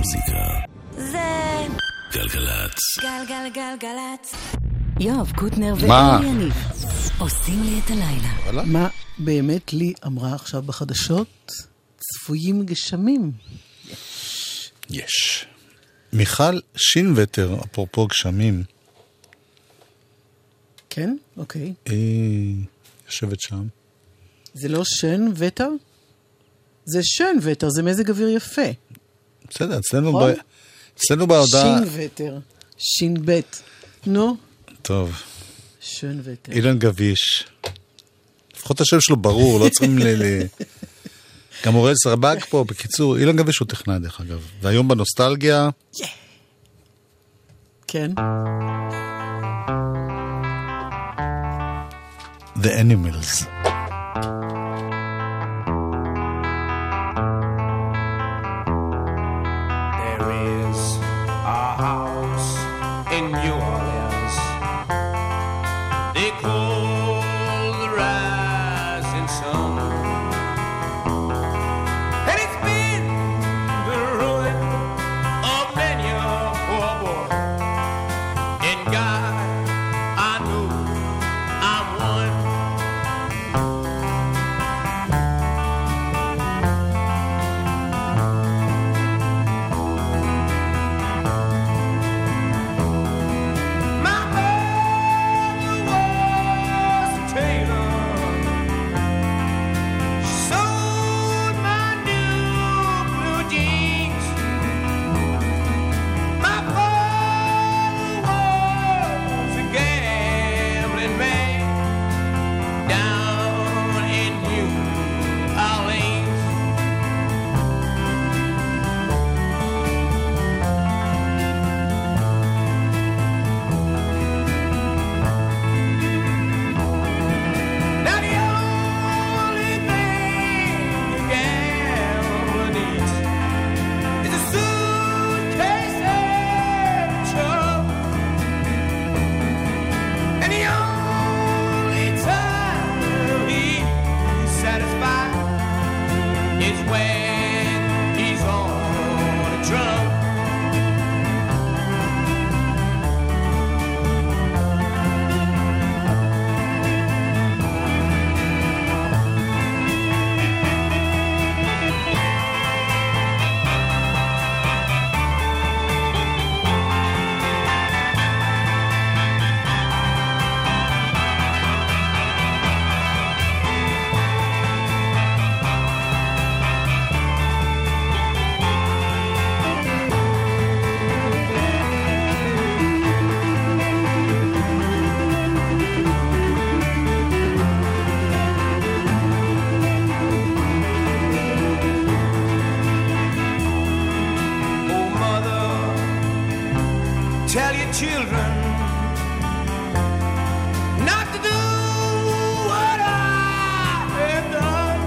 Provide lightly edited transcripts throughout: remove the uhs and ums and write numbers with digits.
המוזיקה זה גלגלצ. גלגלגלגלצ. יואב קוטנר מה? ואלי יניב עושים לי את הלילה. מה באמת לי אמרה עכשיו בחדשות? צפויים גשמים. יש. מיכל שינווטר, אפרופו גשמים. כן? אוקיי. יושבת שם. זה לא שן וטר? זה שן וטר, זה מזג אוויר יפה. בסדר, אצלנו בהודעה... שין וטר. שין בית. נו? טוב. שן וטר. אילן גביש. לפחות השם שלו ברור, לא צריכים גם אורל סרבג פה, בקיצור, אילן גביש הוא טכנאי דרך אגב. והיום בנוסטלגיה... כן. The Animals. There is a house in New Orleans they call the rising sun, and it's been the ruin of many a poor boy. And God, I know I'm one. My mother was a tailor. She sewed my new blue jeans. My father was a gambling man down in New Orleans. Now the only thing a gambler needs is a suitcase and a truck. And the only time he's satisfied is when he's on a drunk. Oh, mother, tell your children not to do what I have done.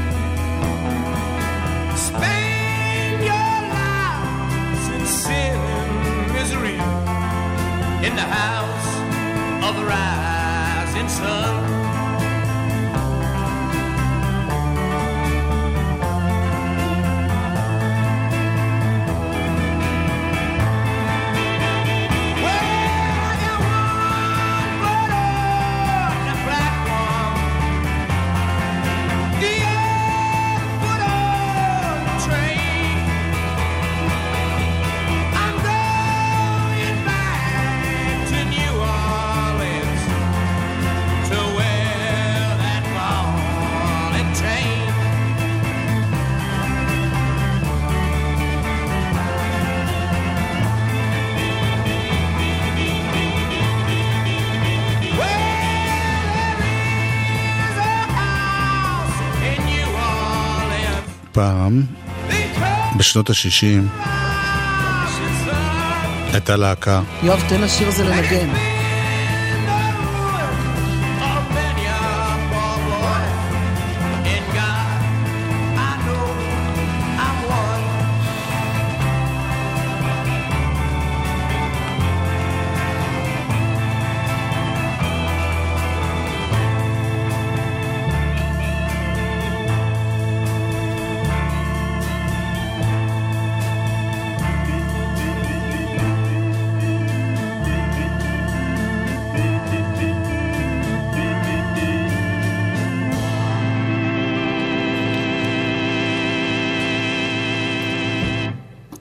Spend your lives in sin and misery in the house of the rising sun. פעם, בשנות ה-60, הייתה להקה. יואב, תן לשיר זה לנגן.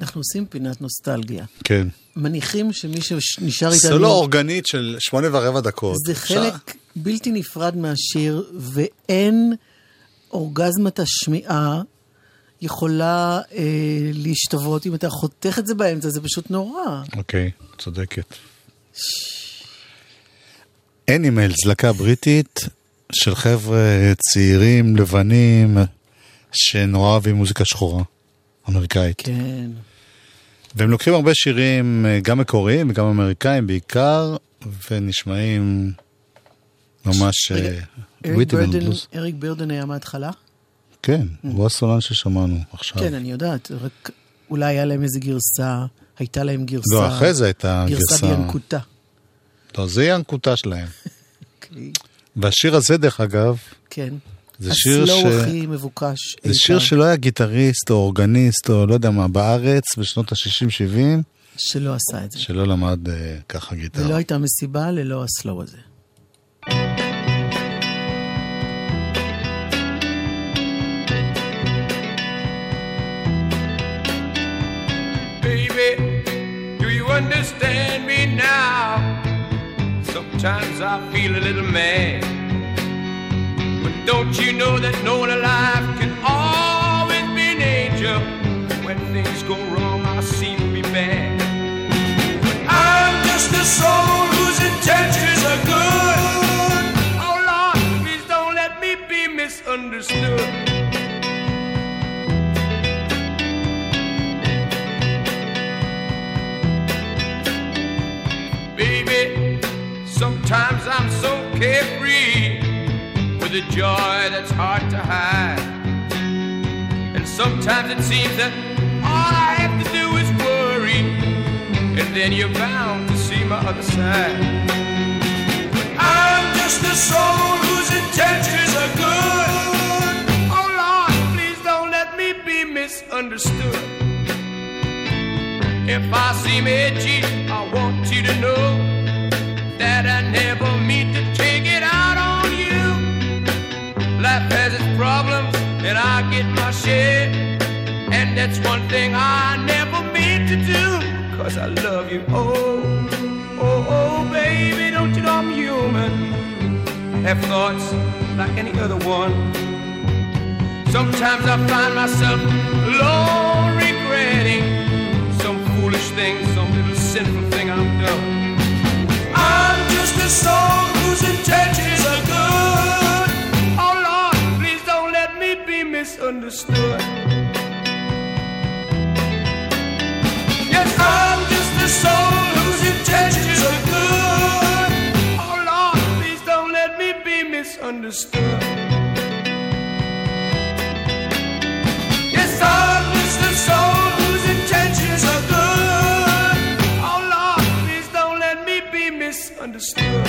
אנחנו עושים פינת נוסטלגיה. כן. מניחים שמי שנשאר איתנו... סולו אורגנית של 8.25 דקות. זה חלק בלתי נפרד מהשיר, ואין אורגזמת השמיעה יכולה להשתוות. אם אתה חותך את זה באמצע, זה פשוט נורא. אוקיי, צודקת. אנימלס, להקה בריטית של חבר'ה צעירים, לבנים, שנורא אוהבים מוזיקה שחורה, אמריקאית. כן. והם לוקחים הרבה שירים, גם מקוריים וגם אמריקאים בעיקר, ונשמעים ממש ריתם בלוז. אריק ברדן היה מההתחלה? כן, הוא הסולן ששמענו עכשיו. כן, אני יודעת, רק אולי היה להם איזה גרסה, הייתה להם גרסה. לא, אחרי זה הייתה גרסה בינקוטה. לא, זה ינקוטה שלהם. אוקיי. והשיר הזה, דרך אגב, כן. זה שיר הסלואו הכי מבוקש. זה שיר שלא היה גיטריסט או אורגניסט או לא יודע מה, בארץ בשנות ה-60-70. שלא עשה את זה. שלא למד ככה גיטרה. ולא הייתה מסיבה ללא הסלואו הזה. Baby, do you understand me now? Sometimes I feel a little mad. But don't you know that no one alive can always be an angel? When things go wrong, I seem to be bad. But I'm just a soul whose intentions are good. Oh Lord, please don't let me be misunderstood. Baby, sometimes I'm so carefree with a joy that's hard to hide. And sometimes it seems that all I have to do is worry, and then you're bound to see my other side. But I'm just a soul whose intentions are good. Oh Lord, please don't let me be misunderstood. If I seem edgy, I want you to know that I never mean to take it out on you. Life has its problems, and I get my share. And that's one thing I never mean to do, 'cause I love you. Oh, oh, oh, baby, don't you know I'm human? Have thoughts like any other one. Sometimes I find myself alone regretting some foolish thing, some little sinful thing I've done. I'm just a soul whose intentions are good. Oh Lord, please don't let me be misunderstood. Yes, I'm just a soul whose intentions are good. Oh Lord, please don't let me be misunderstood. Yes, I'm just a soul whose intentions are good. Oh Lord, please don't let me be misunderstood.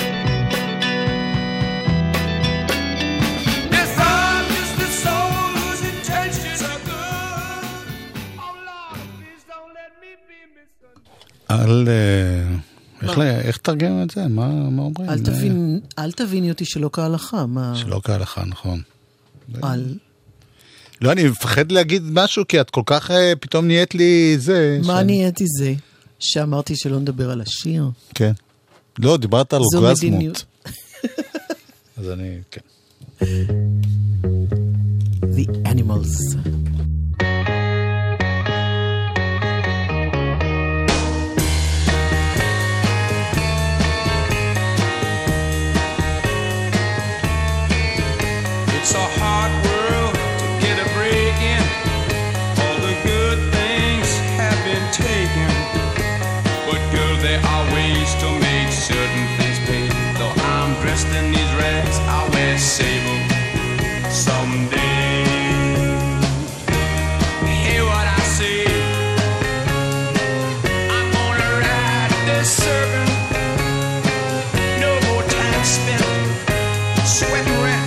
Yes, I'm just a soul whose intentions are good. Oh Lord, please don't let me be misunderstood. איך תרגם את זה? מה אומרים? אל תביני אותי שלא כהלכה. שלא כהלכה, נכון. על... לא, אני מפחד להגיד משהו, כי את כל כך פתאום נהיית לי זה. מה נהייתי זה? שאמרתי שלא נדבר על השיר? כן. לא, דיברת על זו אורגזמות. מדיניות. אז אני, כן. The Animals. It's a hard world to get a break in. All the good things have been taken. But girl, there are ways to make certain things pay. Though I'm dressed in these rags, I'll wear sable someday. Hear what I say. I'm gonna ride this serpent. No more time spent sweating rent.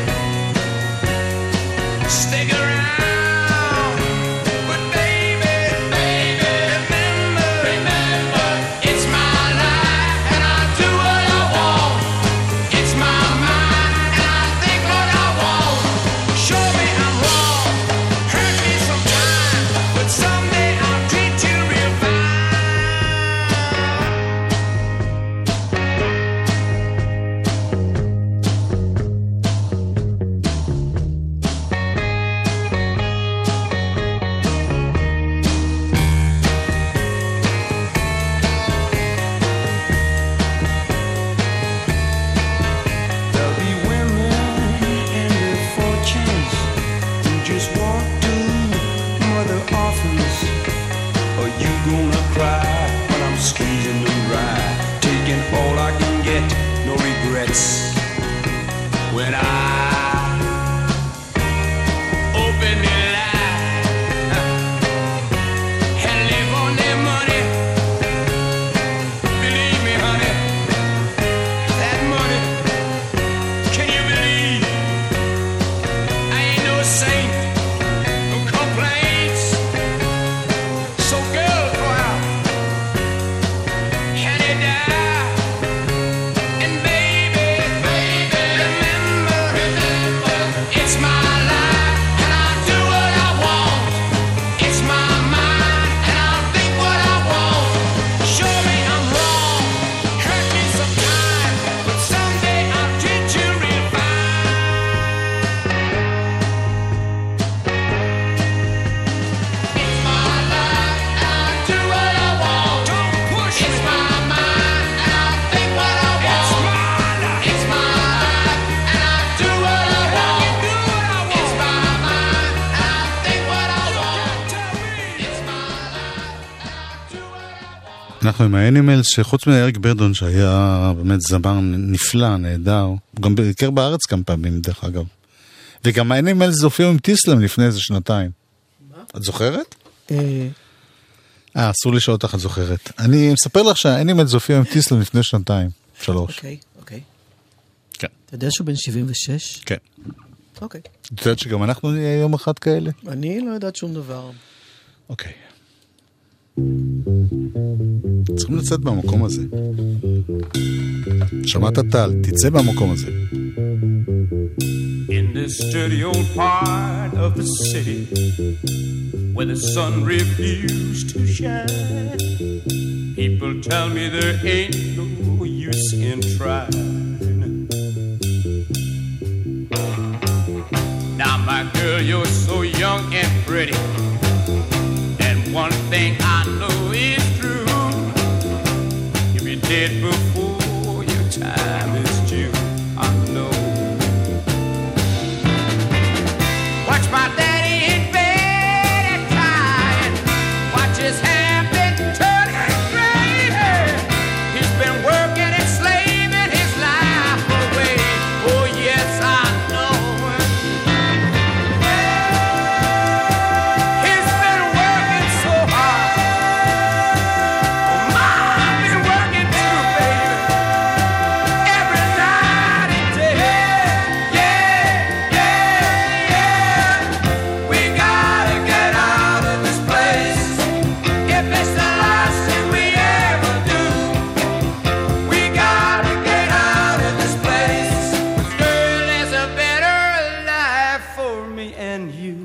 Stick around, but baby, regrets when I open the line and live on their money. Believe me, honey, that money, can you believe? I ain't no saint, no complaints. So girl, go out and it die. And baby, remember, it's my life and I'll do what I want. It's my mind and I'll think what I want. Show me I'm wrong, hurt me sometime, but someday I'll treat you real fine. It's my life and I'll do what I want. Don't push me. It's my mind and I'll think what I want. It's my life and I'll do what I want. It's my mind and I'll think what I want. It's my life and I'll do what I want. אנחנו עם האנימלס, שחוץ מאריק ברדון שהיה באמת זמר נפלא, נהדר, הוא גם ביקר בארץ כמה פעמים דרך אגב. וגם האנימלס הופיעו עם טיסלם לפני איזה שנתיים. את זוכרת? אסור לשאול אותך, את זוכרת. אני מספר לך שהאנימלס הופיעו עם טיסלם לפני שנתיים, 3. אוקיי. כן. אתה יודע שהוא בן 76? כן. אוקיי. את יודעת שגם אנחנו נהיה יום אחד כאלה? אני לא יודעת שום דבר. אוקיי. צריכים לצאת מהמקום הזה. שמעת טל, תצא מהמקום הזה. In this dirty old part of the city where the sun refused to shine, people tell me there ain't no use in trying. Now my girl, you're so young and pretty, and one thing I know is true, you'll be dead before your time is due. I know. Watch my daddy in bed at time. Watch his hair been turning gray. He's been working and slaving his life away. Oh yes, I know. He's been working so hard. Oh, I've been working too, baby. Every night and day. We gotta get out of this place. If it's the last thing we ever do, we gotta get out of this place. Girl, there's a better life for me and you.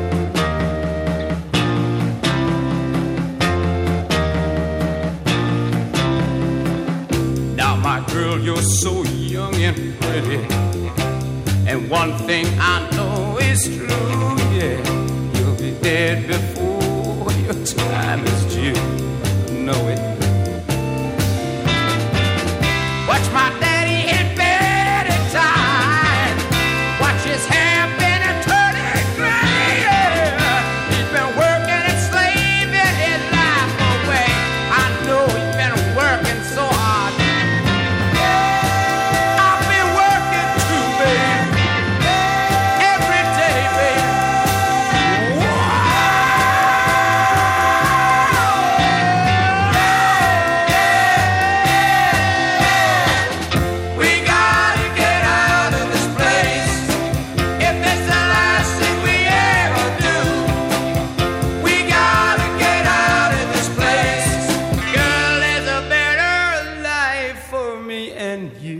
Now, my girl, you're so young and pretty, and one thing I know is true, yeah, you'll be dead before your time is due. Know it. Watch my daddy in bed at time. Watch his hair been a turning gray. He's been working and slaving his life away. I know he's been working so hard. I've been working too, baby. Every day, baby. We gotta get out of this place. If it's the last thing we ever do, we gotta get out of this place. Girl, there's a better life for me and you.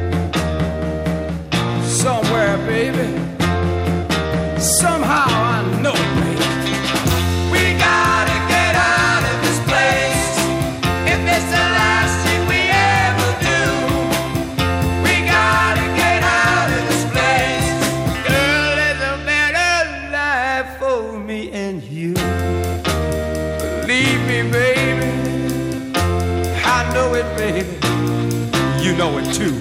Somewhere, baby. Somehow I know it, baby. We gotta get out of this place. If it's the last thing we ever do, we gotta get out of this place. Girl, there's a better life for me and you. Believe me, baby. I know it, baby. You know it too.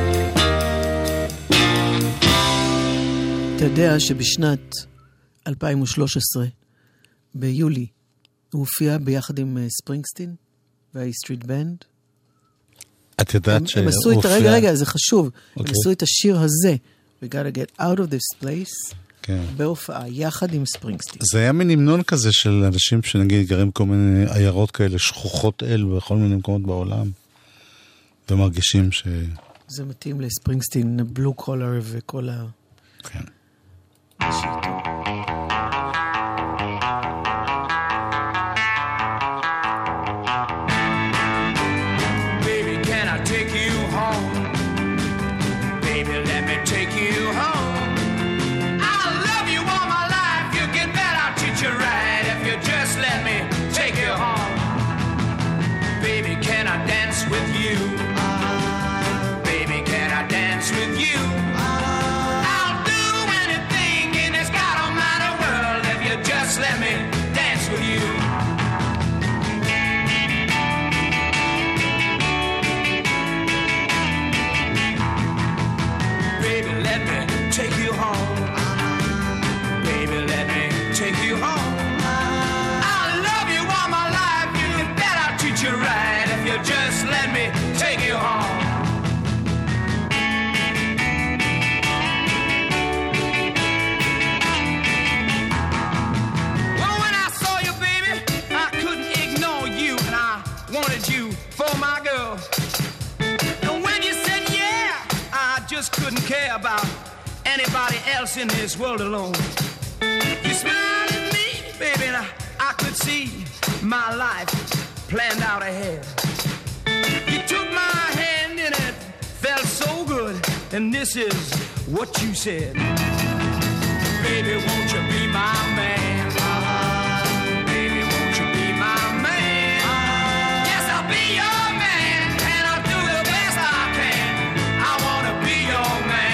אתה יודע שבשנת 2013, ביולי, הוא הופיע ביחד עם ספרינגסטין והאי סטריט בנד? את יודעת הם עשו את, רגע, זה חשוב. הם עשו את השיר הזה, We gotta get out of this place, בהופעה, יחד עם ספרינגסטין. זה היה מין המנון כזה של אנשים שנגיד גרים כל מיני עיירות כאלה, שכוחות אל בכל מיני מקומות בעולם, ומרגישים ש... זה מתאים לספרינגסטין, בלו קולר וכל ה... כן. Anybody else in this world alone. You smiled at me, baby, and I could see my life planned out ahead. You took my hand and it felt so good, and this is what you said. Baby, won't you be my man? Baby, won't you be my man? Yes, I'll be your man, and I'll do the best I can. I want to be your man.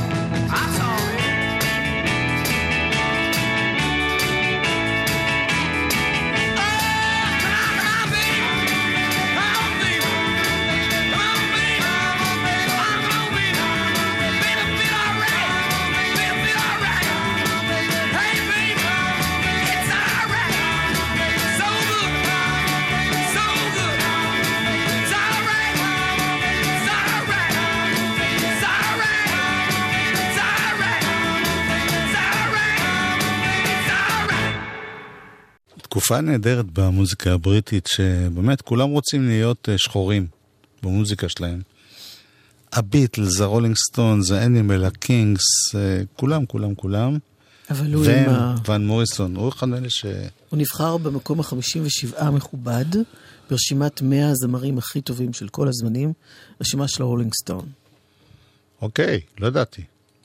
תקופה נהדרת במוזיקה הבריטית, שבאמת כולם רוצים להיות שחורים במוזיקה שלהם. הביטלס, הרולינג סטונס, האנימל, הקינגס, כולם. אבל הוא ון מוריסון, הוא אחד מאלה ש... הוא נבחר במקום ה-57 מכובד, ברשימת 100 הזמרים הכי טובים של כל הזמנים, רשימה של הרולינג סטון. אוקיי, לא ידעתי.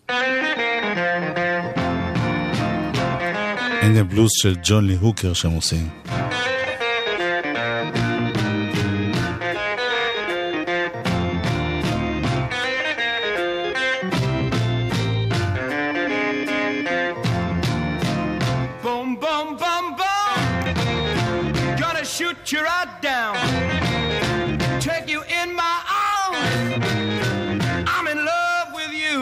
הנה הבלוז של ג'ון לי הוקר שהם עושים. Boom, boom, boom, boom. Gonna shoot you right down. Take you in my arms. I'm in love with you.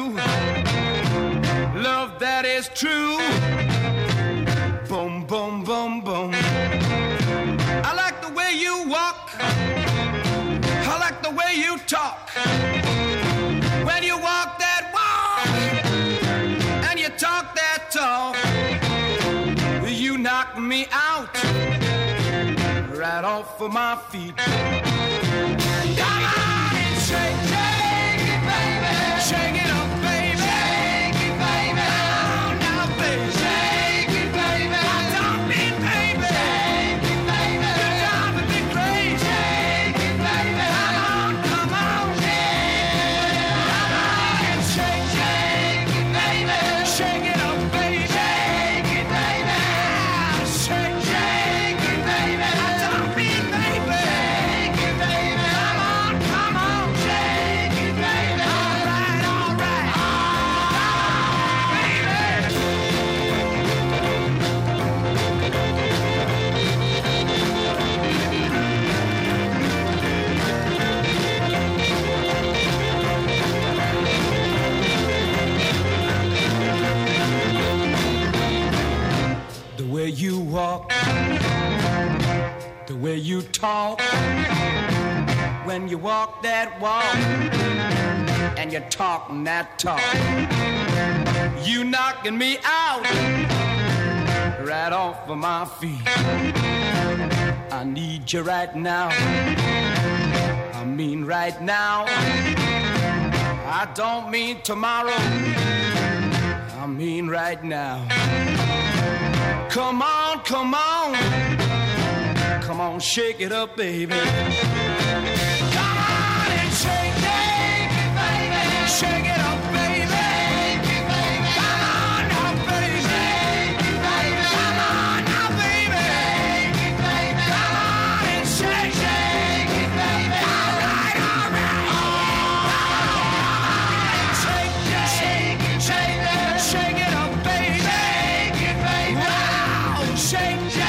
Love that is true. Boom, boom, boom, boom. I like the way you walk. I like the way you talk. When you walk that walk and you talk that talk, you knock me out right off of my feet. Come on and shake, shake it, baby. Shake it up, baby. Shake it, baby. Now, baby. Shake it, baby. I don't mean, baby. Shake it, baby. You're driving me crazy. Shake it, baby. Come on. Come on and shake, shake it, baby. Shake it up, baby. Shake it, baby. Shake, shake it, baby. I don't mean, baby. Shake it, baby. Come on, shake it, baby. All right, the way you walk, the way you talk, when you walk that walk and you're talking that talk. You knocking me out right off of my feet. I need you right now. I mean right now. I don't mean tomorrow. I mean right now. Come on, come on. Come on, shake it up, baby. Come on and shake it, baby. Shake it up, baby. Come on now, baby. Come on now, baby. Come on and shake it, baby. All right, all right. Shake it up, baby. Wow, shake it.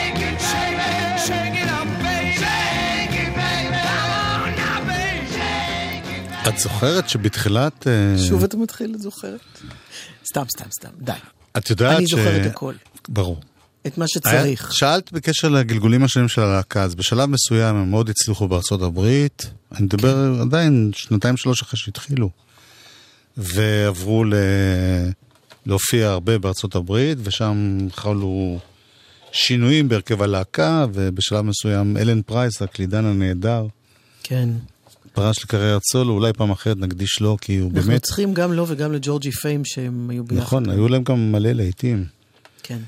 את זוכרת שבתחילת... שוב אתה מתחיל, את זוכרת? סתם, די. את יודעת אני זוכרת הכל. ברור. את מה שצריך. שאלת בקשר לגלגולים השונים של הלהקה, אז בשלב מסוים הם מאוד הצליחו בארצות הברית, אני מדבר עדיין 2-3 אחרי שהתחילו, ועברו להופיע הרבה בארצות הברית, ושם חלו שינויים בהרכב הלהקה, ובשלב מסוים אלן פרייס, הקלידן הנהדר, כן. פרש לקריירת סולו, אולי פעם אחרת נקדיש לו, כי הוא באמת... אנחנו צריכים גם לו וגם לג'ורג'י פיים שהם היו ביחד. נכון, היו להם גם מלא לעיתים. כן.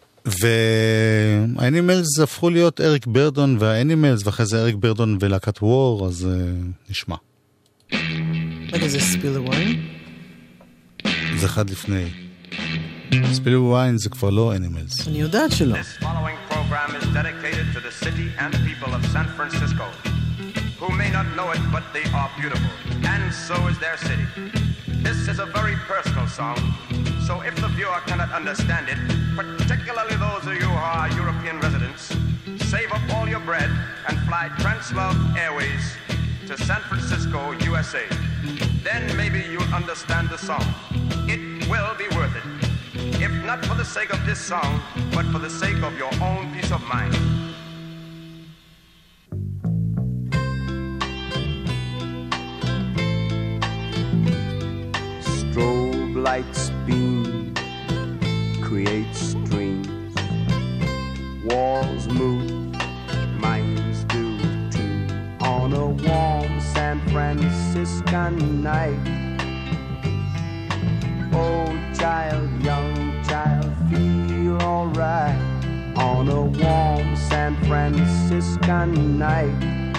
והאנימלס הפכו להיות אריק ברדון והאנימלס, ואחרי זה אריק ברדון ולהקת וור, אז נשמע. רגע, זה ספיל הוויין? זה אחד לפני. ספיל הוויין זה כבר לא אנימלס. אני יודעת שלא. This following program is dedicated to the city and people of San Francisco, who may not know it, but they are beautiful, and so is their city. This is a very personal song, so if the viewer cannot understand it, particularly those of you who are European residents, save up all your bread and fly Translove Airways to San Francisco, USA. Then maybe you'll understand the song. It will be worth it, if not for the sake of this song, but for the sake of your own peace of mind. Strobe lights beam, create streams. Walls move, minds do too. On a warm San Franciscan night, old child, young child, feel alright. On a warm San Franciscan night,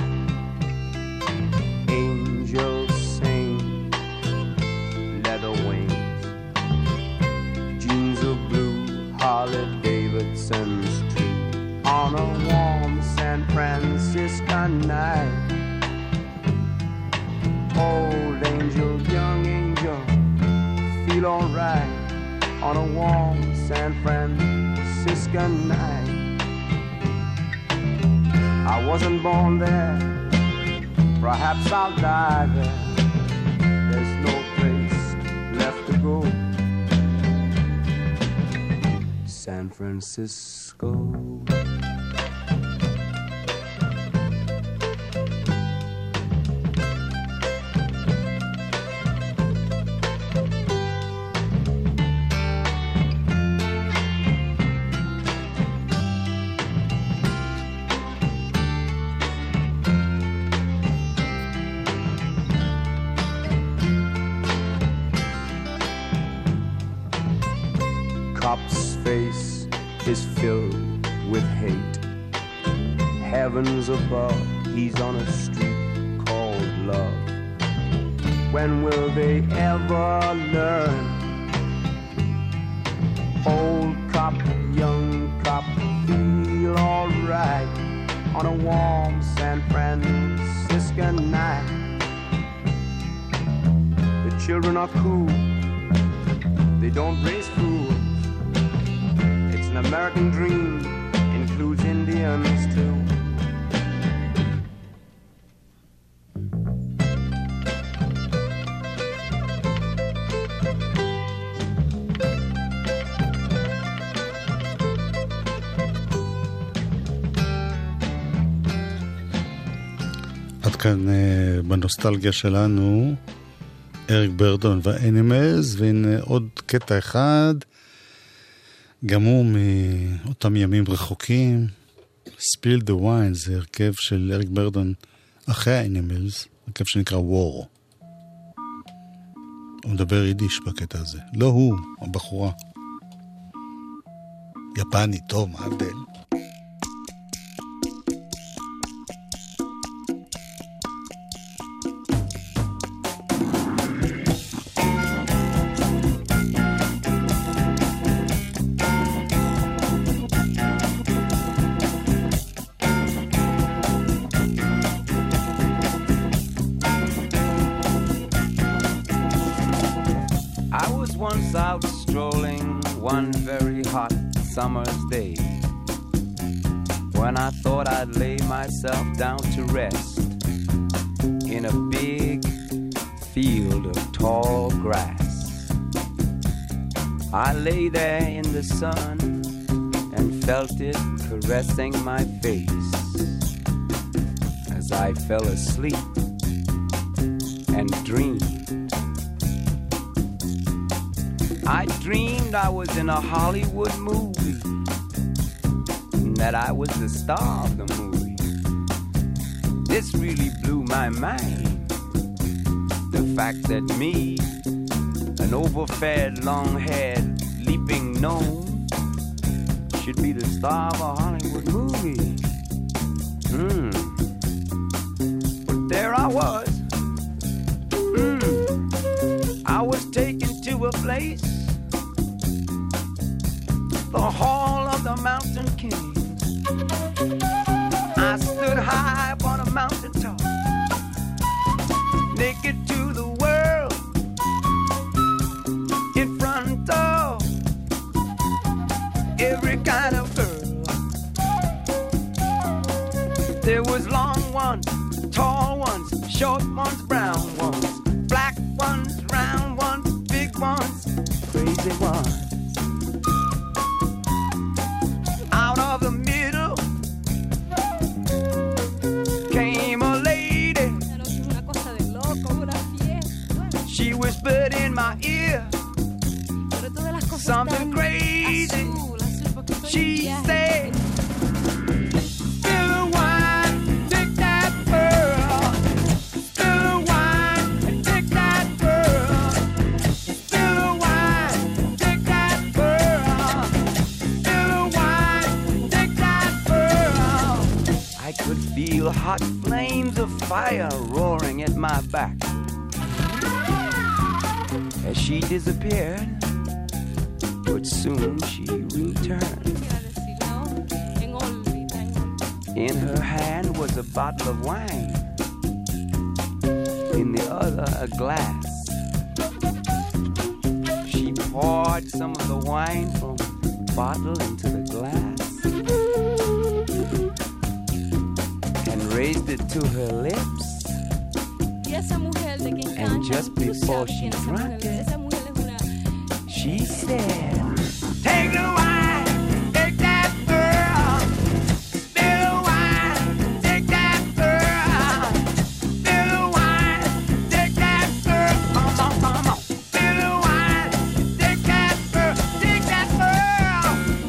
angels sing, leather wings, jeans of blue, Harley Davidson's too. On a warm San Franciscan night, old angel, young angel, feel alright. On a warm San Franciscan night, I wasn't born there, perhaps I'll die there. There's no place left to go. San Francisco. Cop's face is filled with hate. Heavens above, he's on a street called love. When will they ever learn? Old cop, young cop, feel alright on a warm San Franciscan night. The children are cool, they don't raise fools. It's an American dream, includes Indians too. כאן בנוסטלגיה שלנו, אריק ברדון והאנימלס, והנה עוד קטע אחד, גם הוא מאותם ימים רחוקים, Spill the Wine, זה הרכב של אריק ברדון אחרי האנימלס, הרכב שנקרא War. הוא מדבר יידיש בקטע הזה. לא הוא, הבחורה. יפני, טוב, מה הבדל? Summer's day, when I thought I'd lay myself down to rest in a big field of tall grass. I lay there in the sun and felt it caressing my face as I fell asleep and dreamed. I dreamed I was in a Hollywood movie, and that I was the star of the movie. This really blew my mind. The fact that me, an overfed, long-haired, leaping gnome, should be the star of a Hollywood movie. But there I was. I was taken to a place, the Hall of the Mountain King. I stood high upon a mountain top, naked to the world, in front of every kind of girl. There was long ones, tall ones, short ones, brown ones, black ones, round ones, big ones, crazy ones. Out of the middle came a lady. She whispered in my ear something crazy. She said, "Spill the wine, take that pearl. Spill the wine and take that pearl. Spill the wine, take that pearl. Spill the wine, take that pearl." I could feel hot flames of fire roaring at my back as she disappeared, but soon she returned. In her hand was a bottle of wine, in the other a glass. She poured some of the wine from the bottle into the glass and raised it to her lips. And just before she drank it, she said, "Take the wine, take that pearl. Spill the wine, take that pearl. Spill the wine, take that pearl. Come on, come on. Spill the wine, take that pearl, take that pearl.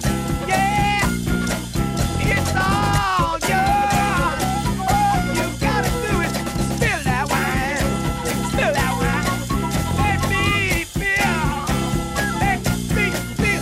Yeah, it's all yours. You gotta do it. Spill that wine, spill that wine. Let me feel. Let me feel.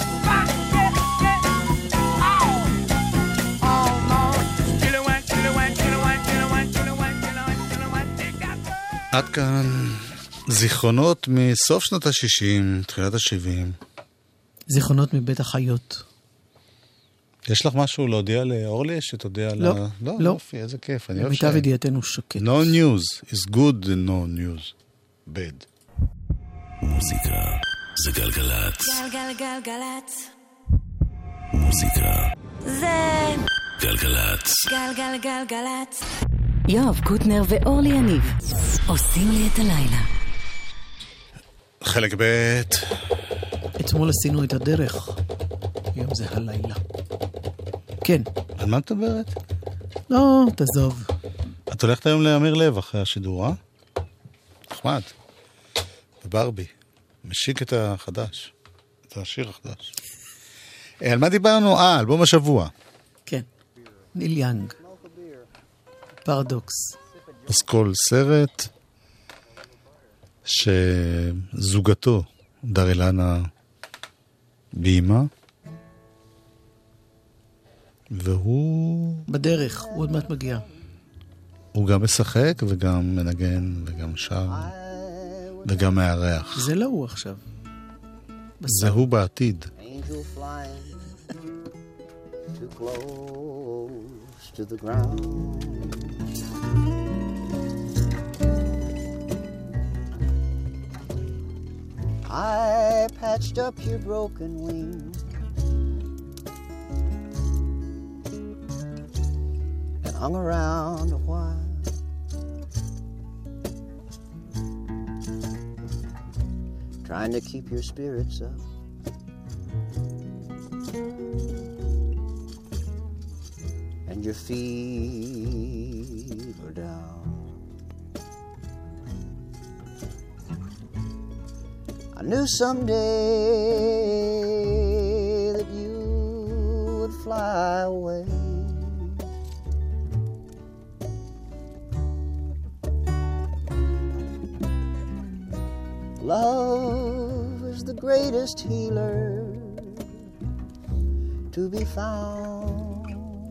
עד כאן זיכרונות מסוף שנות ה-60, תחילת ה-70. זיכרונות מבית החיות. יש לך משהו להודיע לאורלי שתודיע לא, לה... לא. יופי, איזה כיף. למיטב ידיעתנו שקט. No news is good and no news bad. מוזיקה זה גלגלת. גלגלגלגלצ. מוזיקה זה גלגלת. גלגלגלגלצ. יואב קוטנר ואורלי יניב עושים לי את הלילה. חלק ב'. אתמול עשינו את הדרך. היום זה הלילה. כן. על מה את מדברת? לא, תעזוב. את הולכת היום לאמיר לב אחרי השידור, אה? נחמד. בברבי. משיק את החדש. את השיר החדש. על מה דיברנו? אלבום השבוע. כן. ניל יאנג. פרדוקס. פסקול סרט שזוגתו דרילנה בימה והוא בדרך, הוא עוד מעט מגיע. הוא גם משחק וגם מנגן וגם שר וגם מארח. זה לא הוא עכשיו. זה הוא בעתיד. Angel flying too close to the ground. I patched up your broken wing and hung around a while. Trying to keep your spirits up. And your feet were down. I knew someday that you would fly away. Love is the greatest healer to be found.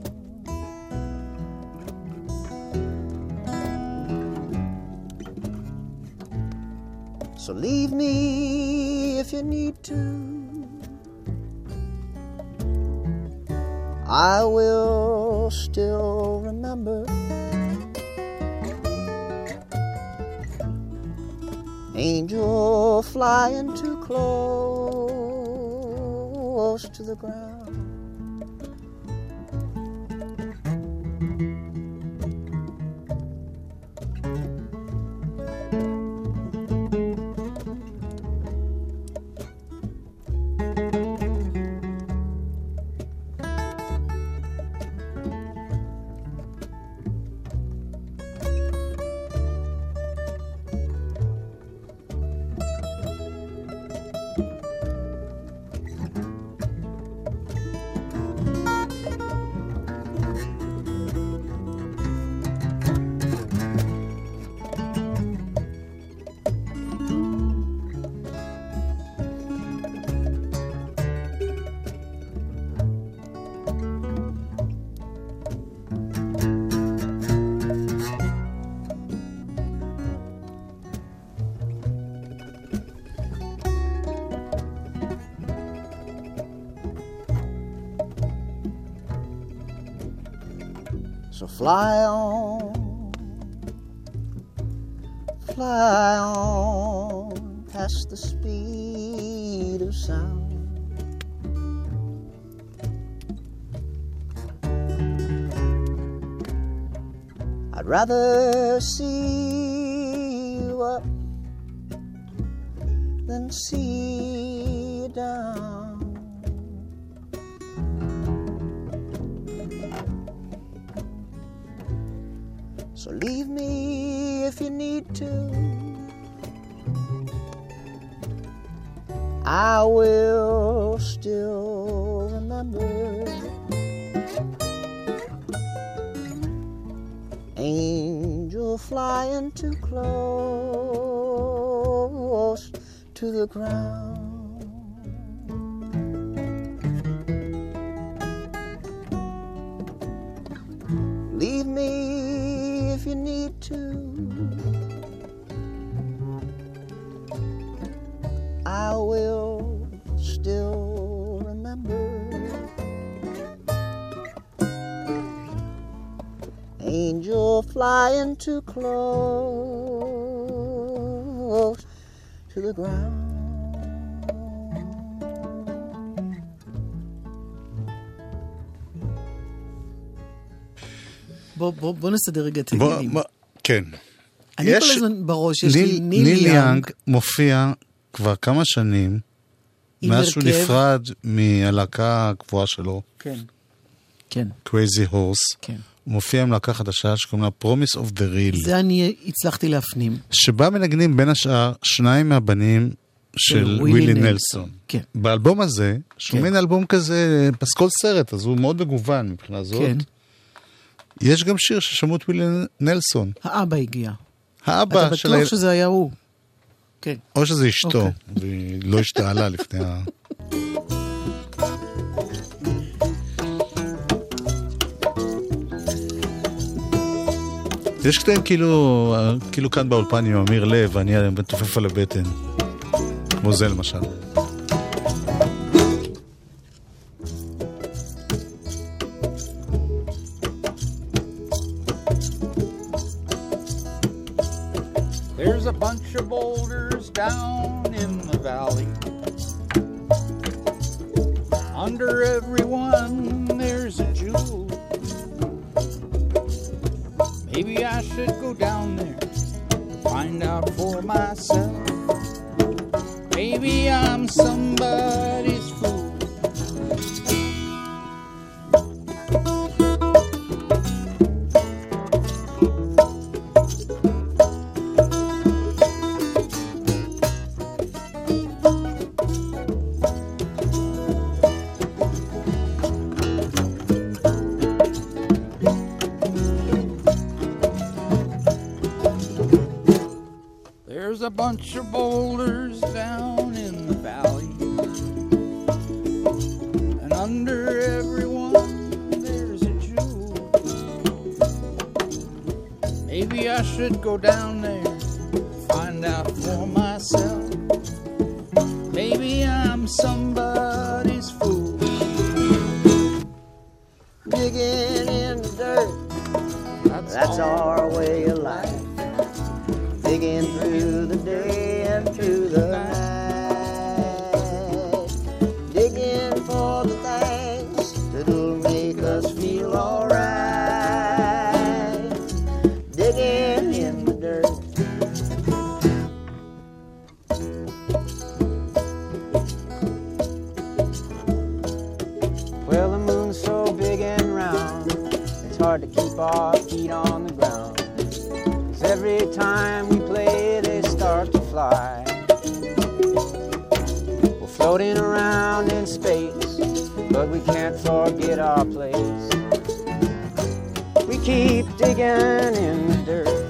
So leave me if you need to. I will still remember. Angel flying too close to the ground. So fly on past the speed of sound. I'd rather see you up than see you down. So leave me if you need to. I will still remember. Angel flying too close to the ground. Leave me if you need to. I will still remember. Angel flying too close to the ground. בוא נסדר רגע את העניינים. כן. אני כל הזמן בראש, יש לי ניל יאנג מופיע כבר כמה שנים, מאז שהוא נפרד מהלהקה הקבועה שלו. כן. כן. Crazy Horse. כן. הוא מופיע עם להקה חדשה שקוראים לה Promise of the Real. זה אני הצלחתי להפנים. שבה מנגנים בין השאר שניים מהבנים של ווילי נלסון. כן. באלבום הזה, שהוא מין אלבום כזה, פסקול סרט, אז הוא מאוד מגוון מבחינה זאת. כן. יש גם שיר ששמעו את ווילי נלסון. האבא הגיע. האבא אתה של... בטוח שזה היה הוא. כן. או שזה אשתו, אוקיי. והיא לא השתעלה לפני ה... יש קטעים כאילו כאן באולפן עם אמיר לב, ואני מתופף על הבטן. כמו זה למשל. There's a bunch of boulders down in the valley. Under every one there's a jewel. Maybe I should go down there, find out for myself. Maybe I'm somebody's fool. There's a bunch of boulders down in the valley, and under every one there's a jewel. Maybe I should go down there, find out for myself. Maybe I'm somebody's fool. Digging in the dirt, that's our way of life. Digging through the day and through the night. Digging for the things that'll make us feel alright. Digging in the dirt. Well, the moon's so big and round, it's hard to keep our feet on the ground. Every time we play, they start to fly. We're floating around in space, but we can't forget our place. We keep digging in the dirt.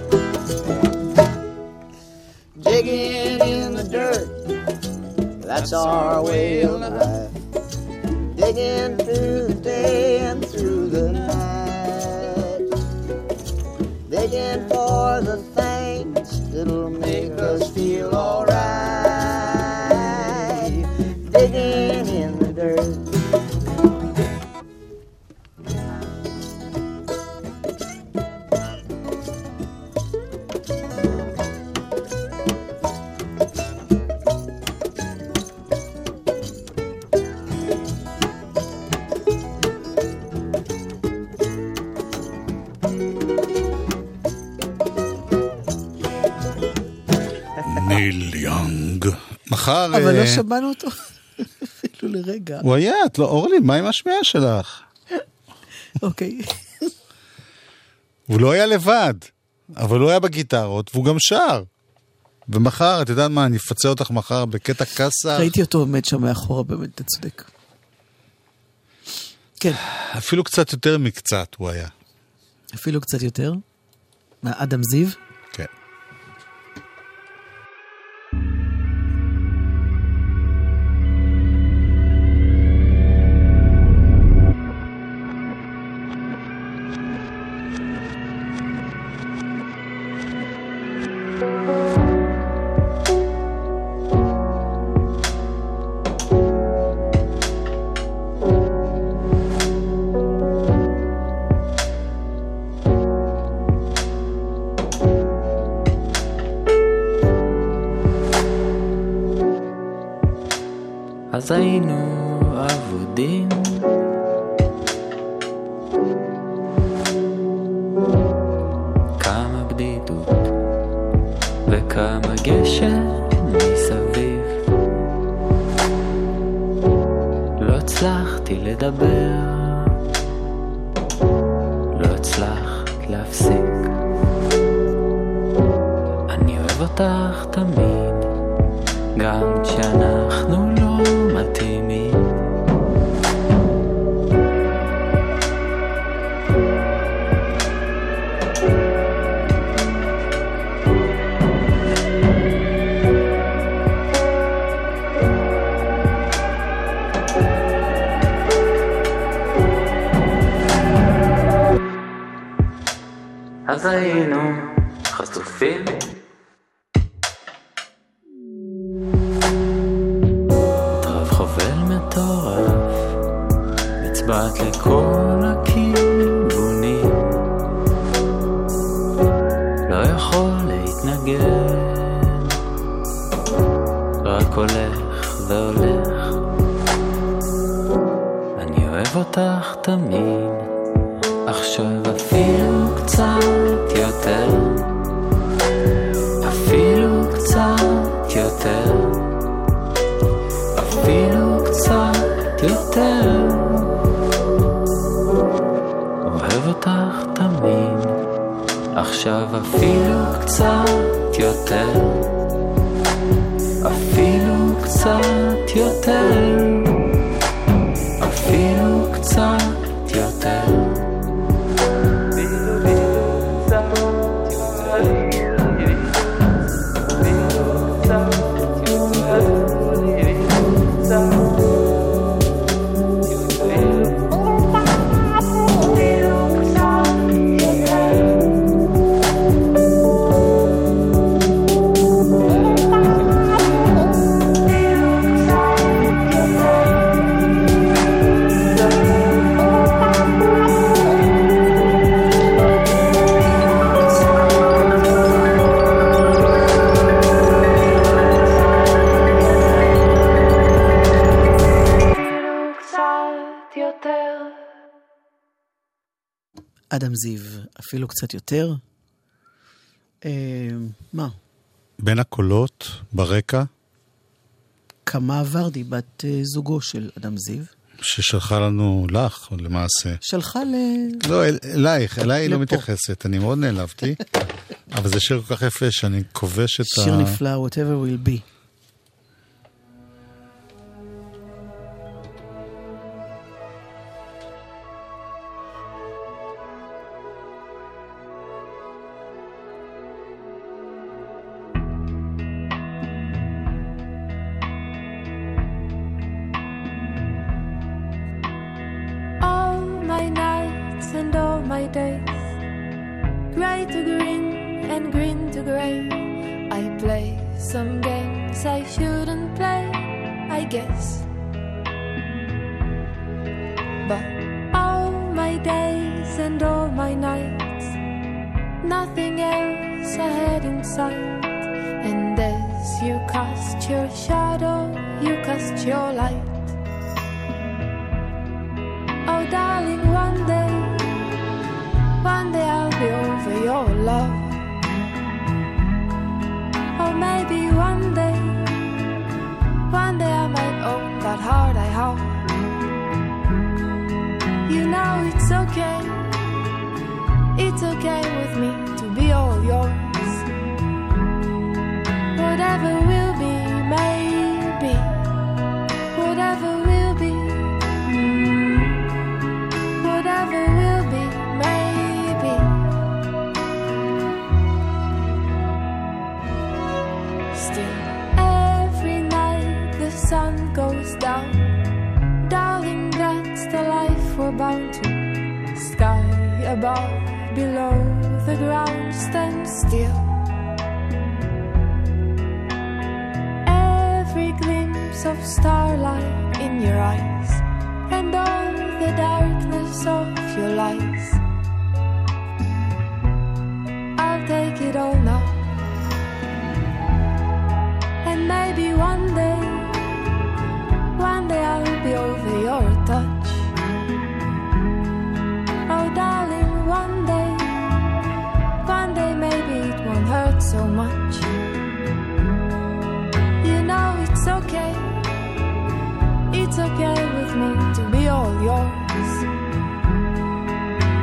Digging in the dirt, that's our way of life. Digging through the day and through the night. Digging for the things that'll make us feel alright. Digging in the dirt. ניל יונג. מחר... אבל לא שמענו אותו אפילו לרגע. הוא היה, את לא, אורלי, מה עם השמיעה שלך? אוקיי. הוא לא היה לבד, אבל הוא היה בגיטרות, והוא גם שר. ומחר, את יודעת מה, אני אפצה אותך מחר בקטע קסה. ראיתי אותו עומד שם מאחורה, באמת, אתה צודק. כן. אפילו קצת יותר מקצת הוא היה. אפילו קצת יותר? אדם זיו? כן. אז היינו עבודים כמה בדידות וכמה גשם מסביב לא הצלחתי לדבר לא הצלחתי אותך תמיד, גם כשאנחנו לא מתאימים. אז היינו חשופים, רב חובל מטורף, מצבעת לכל הכיוונים, לא יכול להתנגד, רק הולך והולך. אני אוהב אותך תמיד, עכשיו אפילו קצת יותר, אפילו קצת יותר, אפילו קצת יותר. אוהב אותך תמיד, עכשיו אפילו קצת יותר, אפילו קצת יותר, אפילו קצת יותר. אדם זיו, אפילו קצת יותר. מה? בין הקולות, ברקע. קמה ורדי, בת זוגו של אדם זיו. ששלחה לנו לך, למעשה. שלחה לא, אלייך, אליי היא לא מתייחסת, אני מאוד נעלבתי. אבל זה שיר כל כך יפה שאני כובש את שיר נפלא, whatever will be.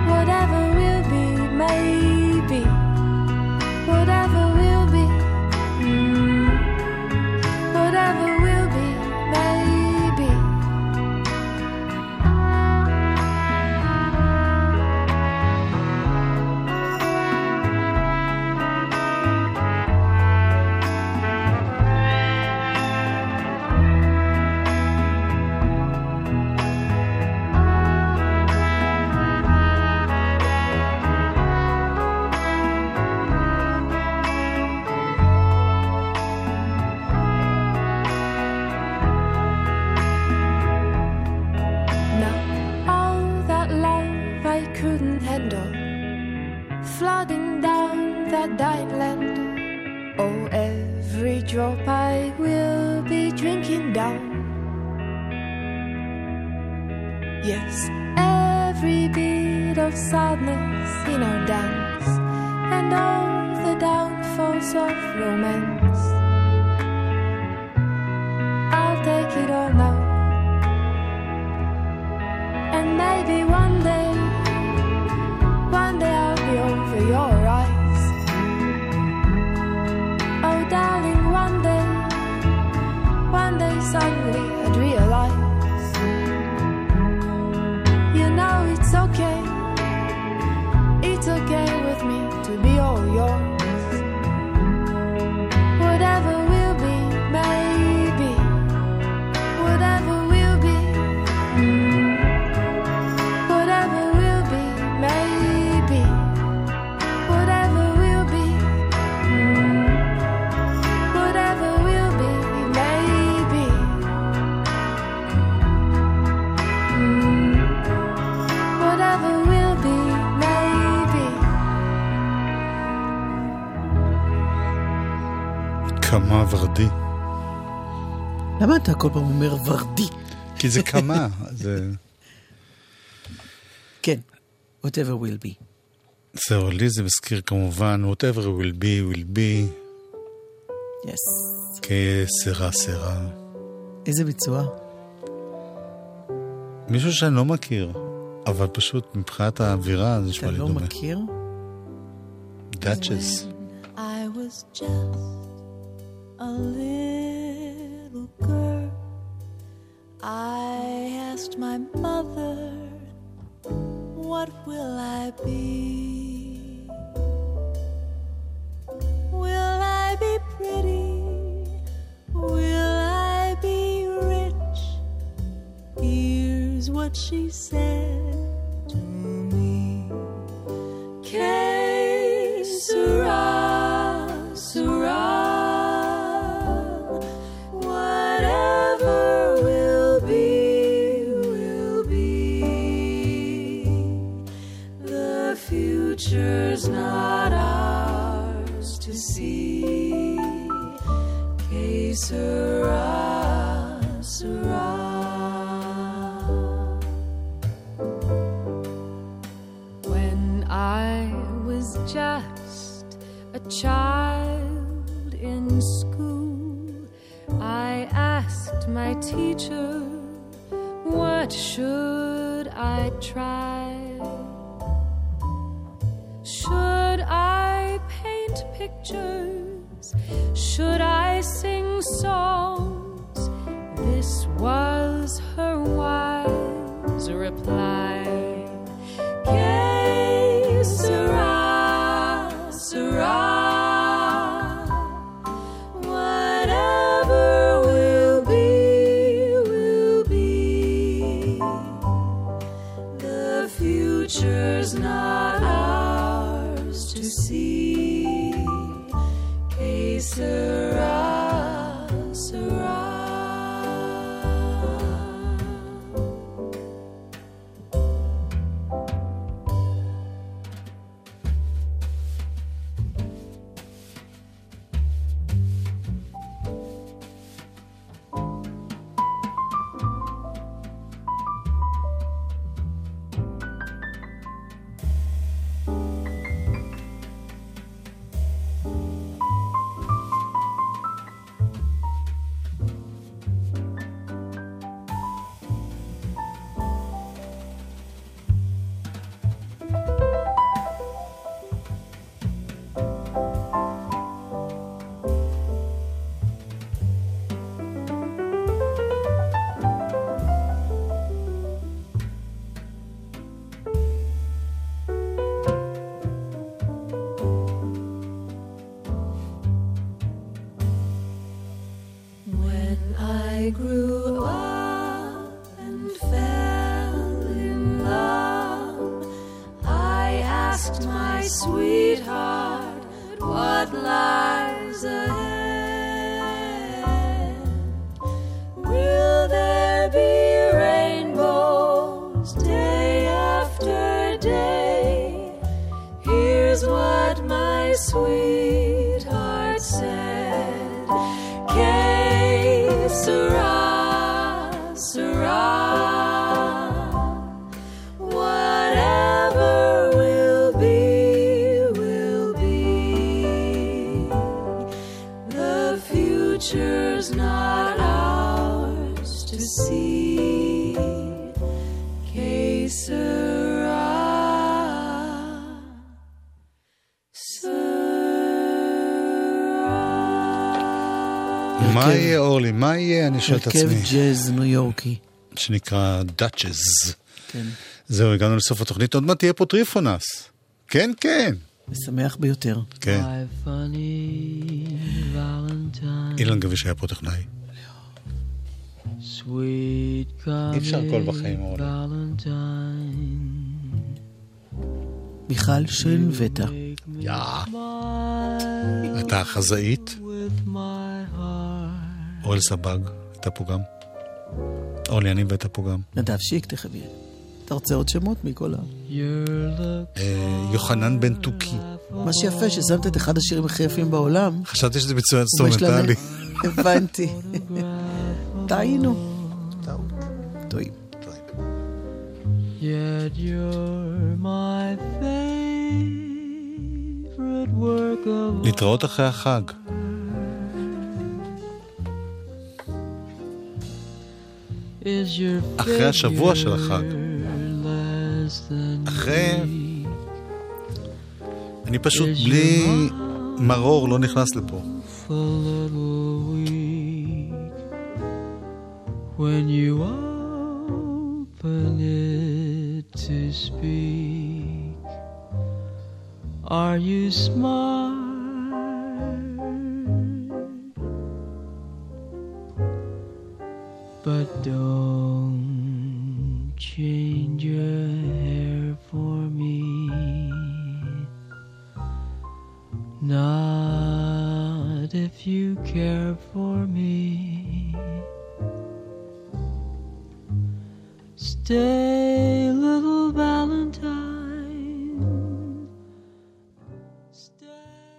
Whatever will be, drop I will be drinking down. Yes, every bit of sadness in our dance, and all the downfalls of romance. I'll take it all now, and maybe one day I'll be over your eyes. Oh darling, one day suddenly I'd realize, you know it's okay with me to be all yours. Whatever will be, maybe, whatever will be, whatever will be, maybe, whatever will be, whatever will be, maybe, whatever will be, maybe. כמה ורדי. למה אתה כל פעם אומר ורדי? כי זה כמה, זה... כן, whatever will be. זהו, לי זה מזכיר כמובן, whatever will be, will be. Yes. כסרה, סרה. איזה ביצוע? מישהו שאני לא מכיר, אבל פשוט מבחינת האווירה זה נשמע לי דומה. אתה לא מכיר? Duchess. I was just a little girl, I asked my mother, what will I be? Will I be pretty? Will I be rich? Here's what she said to me. Que sera, sera. Whatever will be, will be. The future's not ours to see. Que sera, sera. When I was just a child in school, I asked my teacher, what should I try? Should I paint pictures? Should I sing songs? This was her wise reply. Que sera, sera. Whatever will be, will be. The future's not ours to see. Que sera, sera. I grew up and fell in love. I asked my sweetheart what lies ahead. Will there be rainbows day after day? Here's what my sweetheart said. sea. Que sera, מה יהיה אורלי? מה יהיה? אני שואל את עצמי. הרכב ג'אז ניו יורקי. שנקרא דאצ'ז. כן. זהו, הגענו לסוף התוכנית. עוד מעט תהיה פה טריפונס. כן, כן. משמח ביותר. כן. אילן גביש היה פה טכנאי. אי אפשר כל בחיים אורלי. מיכל שן וטה. אתה החזאית. אוהל סבג, הייתה פה גם. אורלי אני והייתה פה גם. נדב שיק תכף יהיה. אתה רוצה עוד שמות מכל יוחנן בן תוכי. מה שיפה ששמת את אחד השירים הכי יפים בעולם. חשבתי שזה ביצוע אינסטרומנטלי. הבנתי. טעינו. טועים. Yet you're my favorite work of להתראות אחרי החג. אחרי השבוע של החג. אחרי... אני פשוט בלי מרור לא נכנס לפה. When you open it to speak, are you smart? But don't change your hair for me, not if you care for me. Stay